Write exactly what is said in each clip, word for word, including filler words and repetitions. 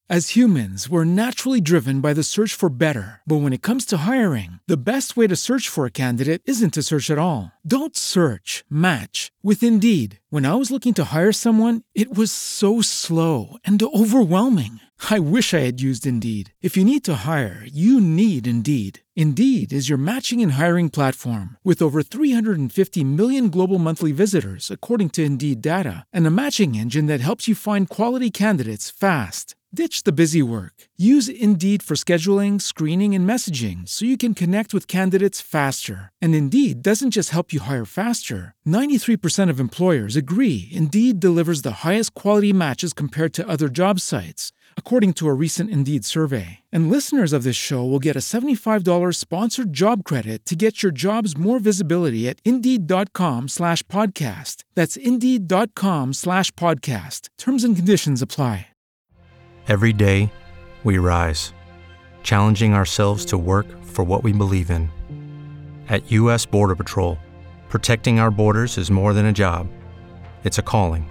As humans, we're naturally driven by the search for better. But when it comes to hiring, the best way to search for a candidate isn't to search at all. Don't search, match with Indeed. When I was looking to hire someone, it was so slow and overwhelming. I wish I had used Indeed. If you need to hire, you need Indeed. Indeed is your matching and hiring platform with over three hundred fifty million global monthly visitors, according to Indeed data, and a matching engine that helps you find quality candidates fast. Ditch the busy work. Use Indeed for scheduling, screening, and messaging so you can connect with candidates faster. And Indeed doesn't just help you hire faster. ninety-three percent of employers agree Indeed delivers the highest quality matches compared to other job sites, according to a recent Indeed survey. And listeners of this show will get a seventy-five dollars sponsored job credit to get your jobs more visibility at Indeed.com slash podcast. That's Indeed.com slash podcast. Terms and conditions apply. Every day, we rise, challenging ourselves to work for what we believe in. At U S Border Patrol, protecting our borders is more than a job. It's a calling.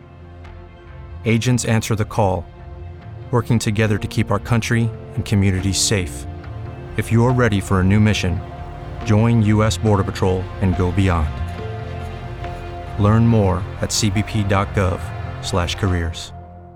Agents answer the call, working together to keep our country and communities safe. If you're ready for a new mission, join U S Border Patrol and go beyond. Learn more at cbp.gov slash careers.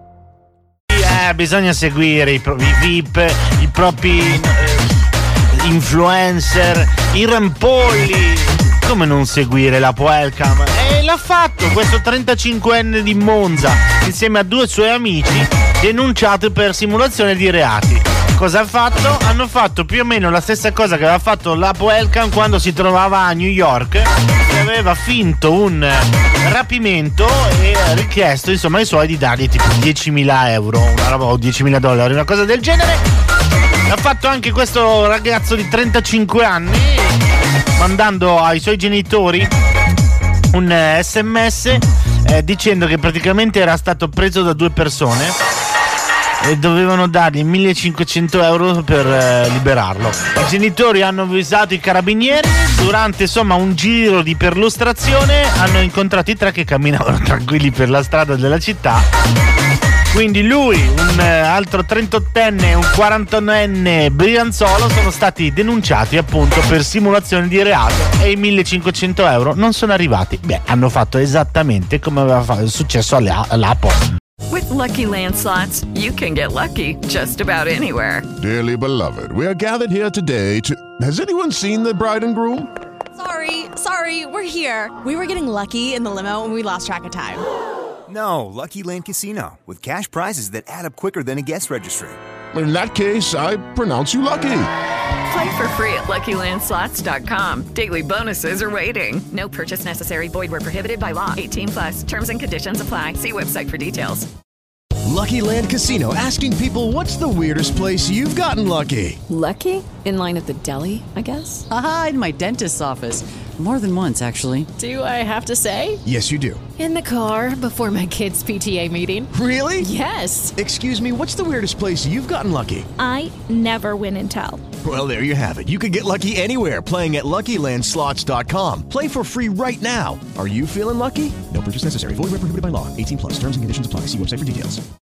Eh, bisogna seguire i propri V I P, i propri eh, influencer, i rampolli. Come non seguire la Welcome? E l'ha fatto questo trentacinquenne di Monza insieme a due suoi amici denunciati per simulazione di reati. Cosa ha fatto? Hanno fatto più o meno la stessa cosa che aveva fatto la Welcome quando si trovava a New York, che aveva finto un rapimento e richiesto insomma ai suoi di dargli tipo diecimila euro, una roba, o diecimila dollari, una cosa del genere. L'ha fatto anche questo ragazzo di trentacinque anni, mandando ai suoi genitori un sms eh, dicendo che praticamente era stato preso da due persone e dovevano dargli millecinquecento euro per eh, liberarlo. I genitori hanno avvisato i carabinieri. Durante insomma un giro di perlustrazione hanno incontrato i tre che camminavano tranquilli per la strada della città. Quindi lui, un eh, altro trentottenne e un quarantanenne brianzolo sono stati denunciati appunto per simulazione di reato e i millecinquecento euro non sono arrivati. Beh, hanno fatto esattamente come aveva fatto, successo all'Apple. With Lucky Land Slots, you can get lucky just about anywhere. Dearly beloved, we are gathered here today to... Has anyone seen the bride and groom? Sorry, sorry, we're here. We were getting lucky in the limo and we lost track of time. No, Lucky Land Casino, with cash prizes that add up quicker than a guest registry. In that case, I pronounce you lucky. Play for free at Lucky Land Slots dot com. Daily bonuses are waiting. No purchase necessary. Void where prohibited by law. eighteen plus. Terms and conditions apply. See website for details. Lucky Land Casino, asking people, what's the weirdest place you've gotten lucky? Lucky? In line at the deli, I guess? Aha, in my dentist's office. More than once, actually. Do I have to say? Yes, you do. In the car before my kids' P T A meeting. Really? Yes. Excuse me, what's the weirdest place you've gotten lucky? I never win and tell. Well, there you have it. You can get lucky anywhere, playing at Lucky Land Slots dot com. Play for free right now. Are you feeling lucky? No purchase necessary. Void where prohibited by law. eighteen plus. Terms and conditions apply. See website for details.